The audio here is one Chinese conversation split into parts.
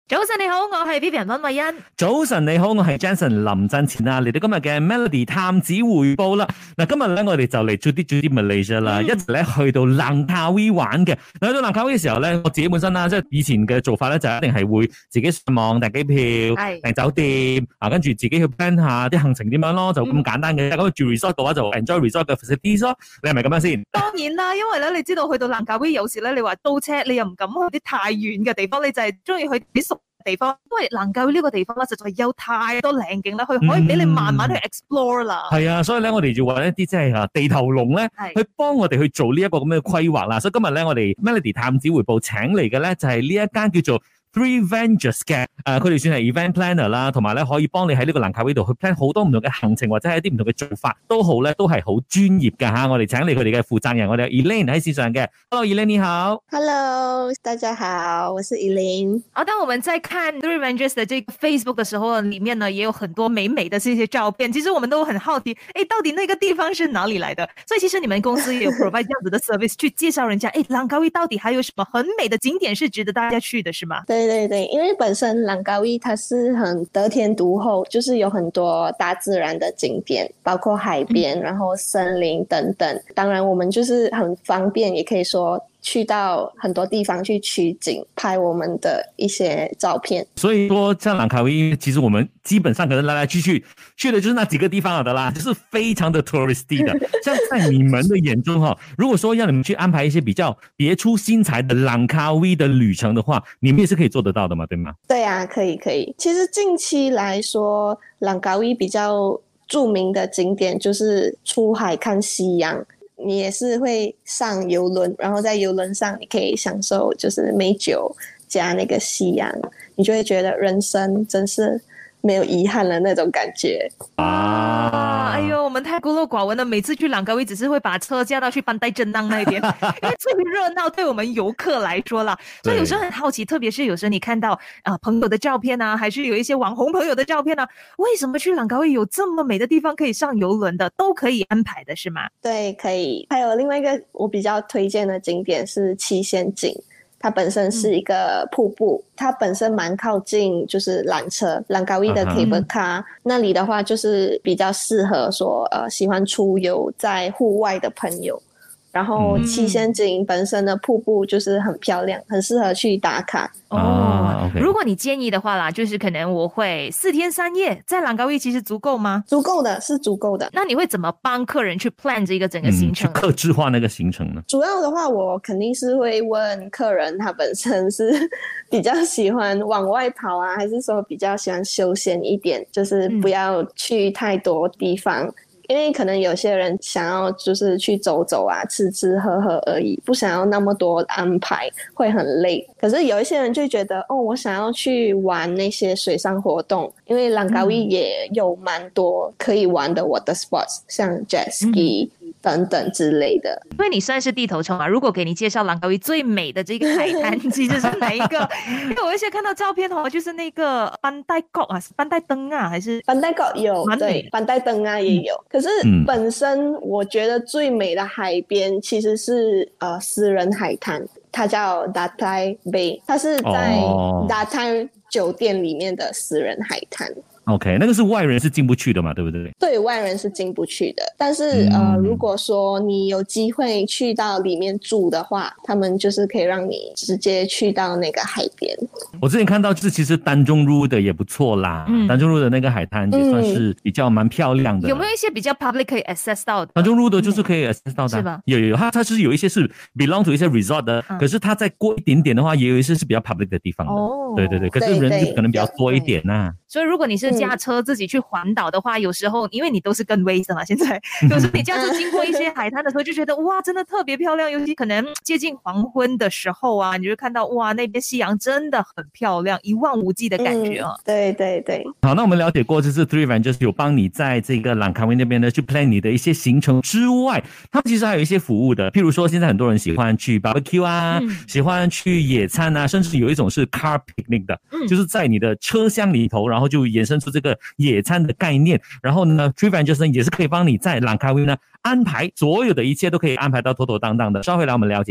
早晨你好，我係 Vivian 溫慧欣。 早晨你好，我係 Jensen 林振前啊，嚟到今日嘅 Melody 探子回報啦。嗱，今日咧我哋就嚟做啲 Malaysia 啦，一齊咧去到蘭卡威玩嘅。去到蘭卡威嘅時候咧，我自己本身啦，即係以前嘅做法咧，就一定係會自己上網訂機票、訂酒店啊，跟住自己去 plan 下啲行程點樣咯，就咁簡單嘅。咁住 resort 嘅話就 enjoy resort 嘅 facilities 咯。你係咪咁樣先？ 當然啦，因為咧你知道去到蘭卡威有時咧，你話租車你又唔敢去啲太遠嘅地方，你就係中意去啲熟地方，因為蘭卡威呢個地方咧，實在有太多靚景啦，佢可以俾你慢慢去 explore 啦。 係啊，所以咧我哋就揾一啲即係地頭龍咧，去幫我哋去做呢一個咁嘅規劃啦。所以今日咧我哋 Melody 探子回報請嚟嘅咧就係呢一間叫做 Three Ventures 嘅，佢哋算係 event planner 啦，同埋咧可以幫你喺呢個蘭卡威度去 plan 好多唔同嘅行程，或者係一啲唔同嘅做法都好咧，都係好專業㗎嚇。我哋請嚟佢哋嘅負責人，我哋有 Elaine 喺線上嘅。Hello Elaine 你好。 Hello 大家好，我是 Elaine。 當我們在看 Three Ventures 的這個 Facebook 的時候，裡面呢也有很多美美的這些照片。其實我們都很好奇，到底那個地方是哪裡來的？所以其實你們公司也有 provide 這樣子的 service 去介紹人家，蘭卡威到底還有什麼很美的景點是值得大家去的，是嗎？ 對對對，因為本身蘭卡威它是很得天獨厚，就是有很多大自然的景點，包括海邊，然後森林等等。當然我們就是很方便，也可以說去到很多地方去取景，拍我們的一些照片。 所以說像蘭卡威，其實我們基本上可能來來去去的就是那幾個地方的啦，就是非常的 touristy 的。像在你們的眼中哈，如果說要你們去安排一些比較別出心裁的蘭卡威的旅程的話，你們也是可以做得到的嘛，對嗎？ 對啊，可以。其實近期來說，蘭卡威比較著名的景點就是出海看夕陽。你也是會上郵輪，然後在郵輪上你可以享受就是美酒加那個夕陽，你就會覺得人生真是沒有遺憾了那種感覺啊！哎呦，我們太孤陋寡聞了，每次去蘭卡威只是會把車駕到去班代真當那邊，因為最熱鬧對我們遊客來說啦，所以有時候很好奇，特別是有時候你看到朋友的照片啊，還是有一些網紅朋友的照片啊，為什麼去蘭卡威有這麼美的地方可以上郵輪的，都可以安排的是嗎？ 對，可以。還有另外一個我比較推薦的景點是七仙井，它本身是一個瀑布，它本身蠻靠近就是纜車，蘭卡威的 cable car，那裡的話就是比較適合說喜歡出遊在戶外的朋友。然後七仙井本身的瀑布就是很漂亮，很適合去打卡。 哦，如果你建議的話啦，就是可能我會4天3夜在蘭卡威，其實足夠嗎？ 足夠的，是足夠的。 那你會怎麼幫客人去 plan 這個整個行程？ 去客製化那個行程呢？ 主要的話，我肯定是會問客人，他本身是比較喜歡往外跑啊，還是說比較喜歡休閒一點，就是不要去太多地方。因為可能有些人想要就是去走走啊，吃吃喝喝而已，不想要那麼多安排，會很累。可是有一些人就覺得，我想要去玩那些水上活動，因為蘭卡威也有蠻多可以玩的 water sports，像 jet ski。等等之類的。 因為你算是地頭蟲嘛，如果給你介紹蘭卡威最美的這個海灘，其實是哪一個？因為我一些看到照片就是那個班代角啊，班代登啊，還是班代角有，對，班代登啊也有。可是本身我覺得最美的海邊其實是私人海灘，它叫 Datai Bay， 它是在 Datai 酒店裡面的私人海灘。 OK， 那個是外人是進不去的嘛，對不對？ 對，外人是進不去的。但是如果說你有機會去到裡面住的話，他們就是可以讓你直接去到那個海邊。 我之前看到就是其實丹中路的也不錯啦，丹中路的那個海灘也算是比較蠻漂亮的。 有沒有一些比較 public 可以 access 到的？ 丹中路的就是可以 access 到的，是吧？有，它是有一些是 belong to 一些 resort 的，可是它再過一點點的話，也有一些是比較 public 的地方的。哦，對，可是人就可能比較多一點呐。 所以如果你是駕車自己去環島的話，有時候因為你都是跟 Waze 嘛，現在有時候你駕車經過一些海灘的時候，就覺得哇，真的特別漂亮。尤其可能接近黃昏的時候啊，你就看到哇，那邊夕陽真的很漂亮，一望無際的感覺啊。 對。 好，那我們了解過，就是 Three Ventures 有幫你在這個蘭卡威那邊呢去 plan 你的一些行程之外，他們其實還有一些服務的，譬如說現在很多人喜歡去 barbecue 啊，喜歡去野餐啊，甚至有一種是 car picnic 的，就是在你的車廂裏頭，然後就衍生出這個野餐的概念。然後呢 Three Ventures 呢也是可以幫你在蘭卡威呢安排所有的一切都可以安排到妥妥當當的。稍後來我們了解一下。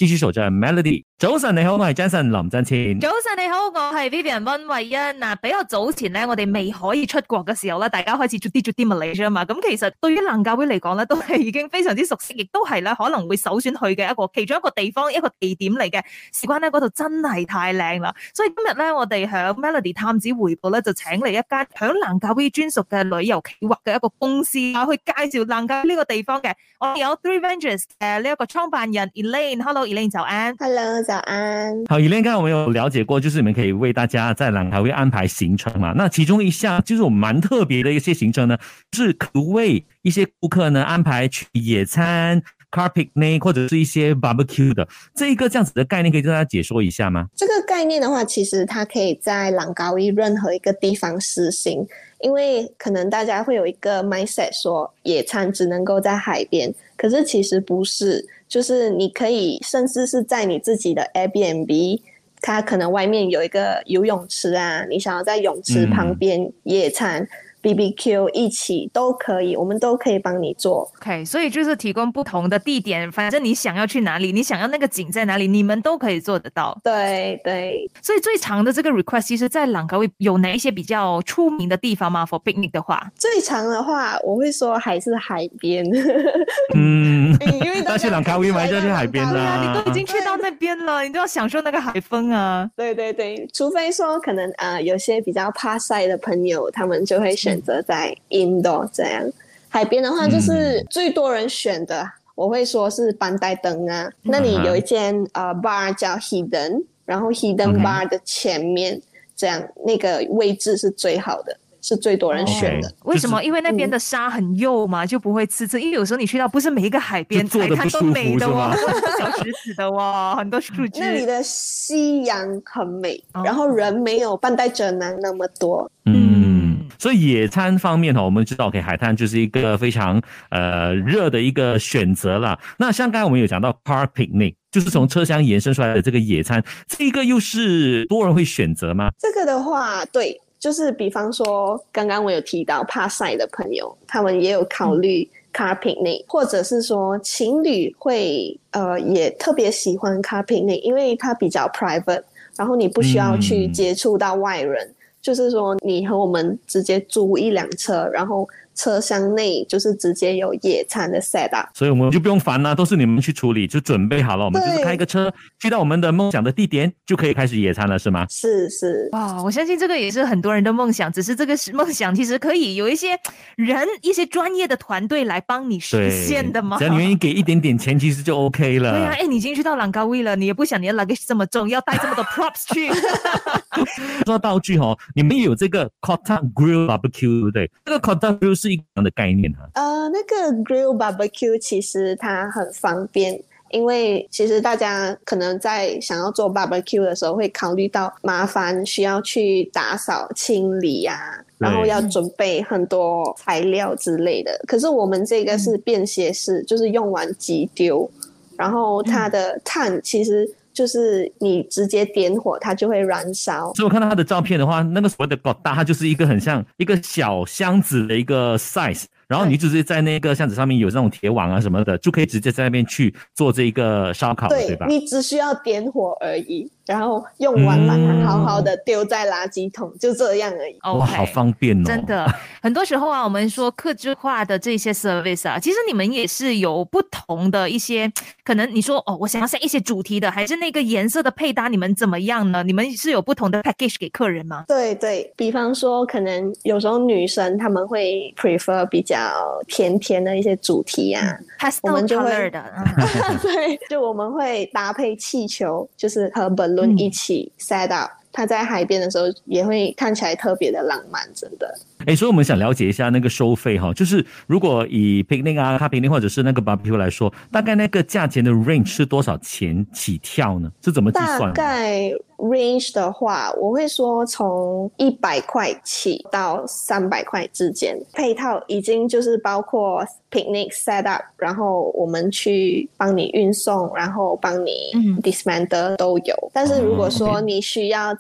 繼續守着 Melody。早晨你好，我係 Jason 林振前。 早晨你好，我係 Vivian 溫慧欣。嗱，比較早前咧，我哋未可以出國嘅時候咧，大家開始做啲 Malaysia 嘛。咁其實對於蘭卡威嚟講咧，都係已經非常之熟悉，亦都係咧可能會首選去嘅其中一個地方，一個地點嚟嘅。事關咧嗰度真係太靚啦，所以今日咧我哋響 Melody 探子回報咧就請嚟一間響蘭卡威專屬嘅旅遊企劃嘅一個公司啊，去介紹蘭卡威呢個地方嘅。我哋有 Three Ventures 嘅呢一個創辦人 Elaine。Hello Elaine， 早安。 Hello， 早安。 好 ，Elaine， 剛才我們有了解過，就是你們可以為大家在蘭卡威安排行程嘛。那其中一項就是我們蠻特別的一些行程呢，就是可為一些顧客呢安排去野餐、car picnic 或者是一些 barbecue 的，這一個這樣子的概念可以跟大家解說一下嗎？ 這個概念的話，其實它可以在蘭卡威任何一個地方實行，因為可能大家會有一個 mindset 說野餐只能夠在海邊，可是其實不是，就是你可以甚至是在你自己的 Airbnb， 它可能外面有一個游泳池啊，你想要在泳池旁邊野餐BBQ 一起都可以，我們都可以幫你做。 OK， 所以就是提供不同的地點，反正你想要去哪裡，你想要那個景在哪裡，你們都可以做得到。 對對， 所以最長的這個 request 其實在蘭卡威有哪一些比較出名的地方嗎 ？For picnic 的話， 最長的話我會說還是海邊。 因為但是蘭卡威嘛就去海邊啦， 你都已經去到那邊了，你都要享受那個海風啊。 對對對，除非說可能有些比較怕曬的朋友，他們就會選擇在 indoor 這樣。海邊的話就是最多人選的，我會說是班代登啊，那裡有一間bar 叫 Hidden， 然後 Hidden bar 的前面這樣那個位置是最好的，是最多人選的。 為什麼？因為那邊的沙很幼嘛，就不會刺刺。因為有時候你去到不是每一個海邊海灘都美的哦，小石子的哦，很多樹枝。 那裡的夕陽很美，然後人沒有班代鎮南那麼多。 所以野餐方面我們知道海灘就是一個非常熱的一個選擇啦。那像剛才我們有講到 car picnic， 就是從車廂延伸出來的這個野餐，這個又是多人會選擇嗎？ 這個的話，對，就是比方說剛剛我有提到怕曬的朋友，他們也有考慮 car picnic， 或者是說情侶會也特別喜歡 car picnic， 因為它比較 private， 然後你不需要去接觸到外人。就是說你和我們直接租一輛車，然後車廂內就是直接有野餐的 set up， 所以我們就不用煩啦，都是你們去處理，就準備好了，我們就是開個車去到我們的夢想的地點，就可以開始野餐了，是嗎？ 是。 哇，我相信這個也是很多人的夢想，只是這個夢想其實可以有一些人、一些專業的團隊來幫你實現的嘛。 只要你願意給一點點錢，其實就 OK 了。 對啊，你已經去到蘭卡威了，你也不想你的 luggage 這麼重，要帶這麼多 props 去。 說道具你們也有這個 Kotak Grill Barbecue， 對不對？這個 Kotak Grill 是一個樣的概念那個 Grill Barbecue 其實它很方便，因為其實大家可能在想要做 barbecue 的時候會考慮到麻煩，需要去打掃清理啊，然後要準備很多材料之類的。可是我們這個是便攜式，就是用完即丟，然後它的炭其實就是你直接點火它就會燃燒。 所以我看到它的照片的話，那個所謂的 Kotak 它就是一個很像一個小箱子的一個 size， 然後你就直接在那個箱子上面有那種鐵網啊什麼的，就可以直接在那邊去做這個燒烤，對吧？ 你只需要點火而已，然後用完把它好好的丟在垃圾桶，就這樣而已。 哇，好方便哦！ 真的，很多時候啊，我們說客製化的這些 service 啊，其實你們也是有不同的一些，可能你說我想要下一些主題的，還是那個顏色的配搭，你們怎麼樣呢？你們是有不同的 package 給客人嗎？ 對，比方說可能有時候女生他們會 prefer 比較甜甜的一些主題啊，我們就會對，就我們會搭配氣球，就是和 balloon 一起 set up，它在海邊的時候也會看起來特別的浪漫，真的。 所以我們想了解一下那個收費哈，就是如果以 picnic 啊、car picnic 或者是那個 barbecue 來說，大概那個價錢的 range 是多少錢起跳呢？是怎麼計算？ 大概 range 的話，我會說從100塊起到300塊之間，配套已經就是包括 picnic set up， 然後我們去幫你運送，然後幫你 dismantle 都有。但是如果說你需要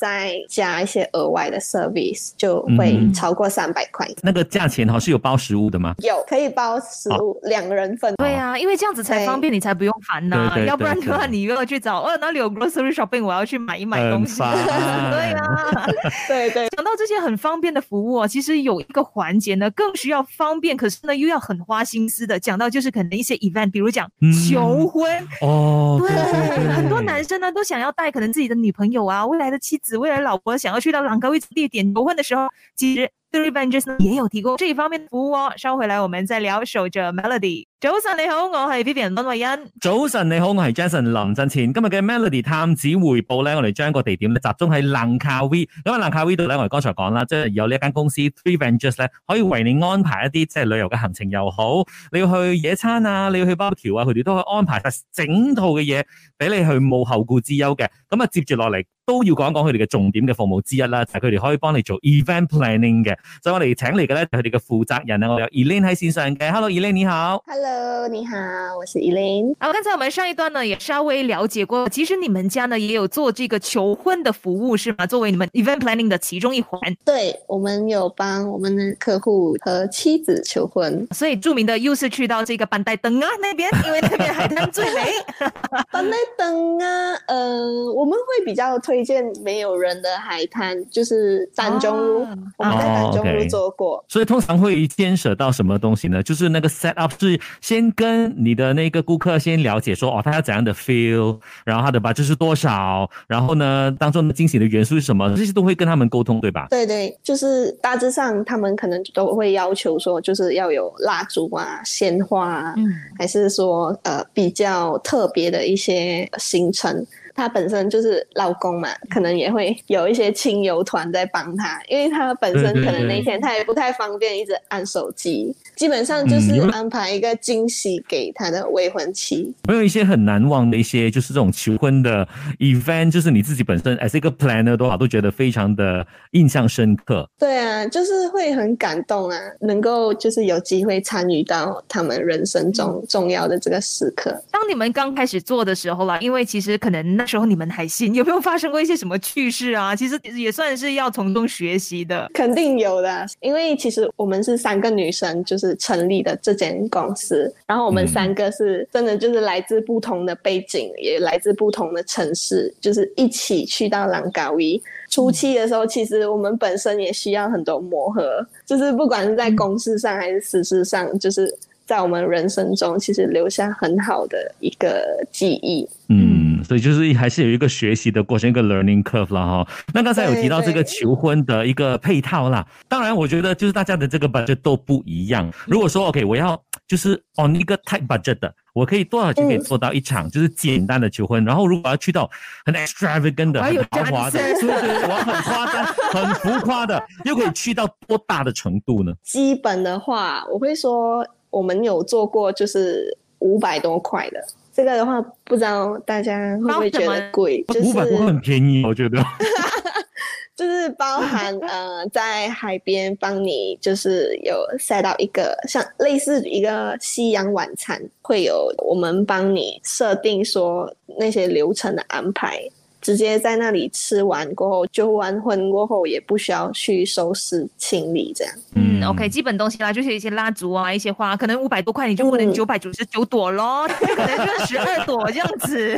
再加一些额外的 service， 就会超过300块。 那个价钱是有包食物的吗？ 有，可以包食物，2个人份。 对啊，因为这样子才方便，你才不用烦呐。要不然的话，你又要去找哪里有 grocery shopping， 我要去买一买东西。对啊， 对对。 讲到这些很方便的服务其实有一个环节呢，更需要方便，可是呢又要很花心思的。讲到就是可能一些 event， 比如讲求婚对，很多男生呢都想要带可能自己的女朋友未来的妻子、未来的老婆，想要去到朗高威地点求婚的时候，其實 ThreeVengers 也有提供這一方面的服務稍回來我們再聊。守着 Melody。早晨你好，我係 Vivian 溫慧欣。 早晨你好，我係 Jason 林振前。今日嘅 Melody 探子回報咧，我哋將個地點咧集中喺蘭卡威。因為蘭卡威度咧，我哋剛才講啦，即係有呢一間公司 ThreeVengers 咧，可以為你安排一啲即係旅遊嘅行程又好，你要去野餐你要去BBQ佢哋都可以安排晒整套嘅嘢俾你去冇後顧之憂嘅。咁接住落嚟都要講一講佢哋嘅重點嘅服務之一啦，就係佢哋可以幫你做 event planning 嘅。所以我哋請嚟嘅咧，佢哋嘅負責人我有 Elaine 喺線上嘅。Hello Elaine 你好。 Hello 你好，我是 Elaine。 剛才我們上一段呢也稍微了解過，其實你們家呢也有做這個求婚的服務是嗎？作為你們 event planning 的其中一環。 對，我們有幫我們的客戶和妻子求婚， 所以著名的又是去到這個班代登那邊，因為那邊海灘最美。 班代登我們會比較推薦沒有人的海灘，就是丹中路，我們在丹中路做過。 所以通常會牽涉到什麼東西呢？就是那個 set up 是先跟你的那個顧客先了解說，他要怎樣的 feel， 然後他的 budget 是多少，然後呢當中的驚喜的元素是什麼，這些都會跟他們溝通，對吧？ 對對，就是大致上他們可能都會要求說，就是要有蠟燭鮮花還是說比較特別的一些行程。他本身就是老公嘛，可能也會有一些親友團在幫他，因為他本身可能那天他也不太方便一直按手機，基本上就是安排一個驚喜給他的未婚妻。 有沒有一些很難忘的一些就是這種求婚的 event， 就是你自己本身 as 一個 planner 都覺得非常的印象深刻？對啊，就是會很感動啊，能夠就是有機會參與到他們人生中重要的這個時刻。 當你們剛開始做的時候啦，因為其實可能那時候你們還新，有沒有發生過一些什麼趣事啊？其實也算是要從中學習的。 肯定有的，因為其實我們是3個女生就是成立的這間公司，然後我們3個是真的就是來自不同的背景，也來自不同的城市，就是一起去到蘭卡威。初期的時候其實我們本身也需要很多磨合，就是不管是在公事上還是私事上，就是在我們人生中其實留下很好的一個記憶。 所以就是還是有一個學習的過程，一個 learning curve 啦哈。那剛才有提到這個求婚的一個配套啦，當然我覺得就是大家的這個 budget 都不一樣。如果說 OK 我要就是 on 一個 tight budget 的，我可以多少錢可以做到一場就是簡單的求婚，然後如果要去到很 extravagant 的很豪華的，對，我要很誇張很浮誇的，又可以去到多大的程度呢？基本的話我會說我們有做過就是500多塊的，這個的話不知道大家會不會覺得貴？就是 500多很便宜，我覺得。 就是包含在海邊幫你就是有 set up 一個像類似一個西洋晚餐，會有我們幫你設定說那些流程的安排，直接在那裡吃完過後，求完婚過後也不需要去收拾清理這樣。 OK， 基本東西啦，就是一些蠟燭啊，一些花，可能500多塊你就不能999朵咯，可能就12朵這樣子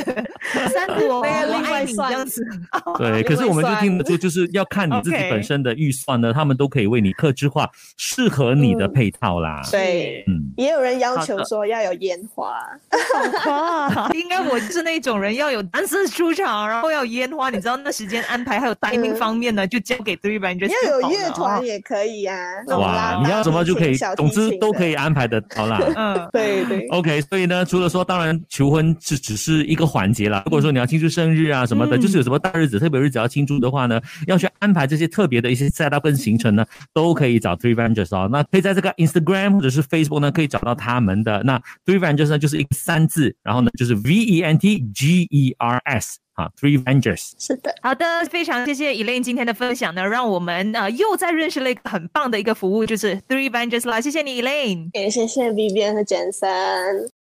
，3朵我愛你這樣子。 對，可是我們就聽得出，就是要看你自己本身的預算呢，他們都可以為你客製化適合你的配套啦。 對，也有人要求說要有煙花。 應該我就是那種人，要有單色出場，然後要有煙花，你知道那時間安排還有 timing 方面呢，就交給 ThreeVengers。 要有樂團也可以啊。 哇，你要什麼就可以，總之都可以安排得到啦。 對對。 OK， 所以呢，除了說，當然求婚只是一個環節啦。如果說你要慶祝生日啊什麼的，就是有什麼大日子、特別日子要慶祝的話呢，要去安排這些特別的一些 set up 跟行程呢，都可以找 ThreeVengers 哦。那可以在這個 Instagram 或者是 Facebook 呢，可以找到他們的。那 ThreeVengers 呢，就是一個3字，然後呢，就是 VENTGERS。好 ，ThreeVengers 是的， 好的，非常謝謝 Elaine 今天的分享呢，讓我們又再認識了一個很棒的一個服務，就是 ThreeVengers 啦，謝謝你 Elaine， 也謝謝 Vivian 和 Jensen。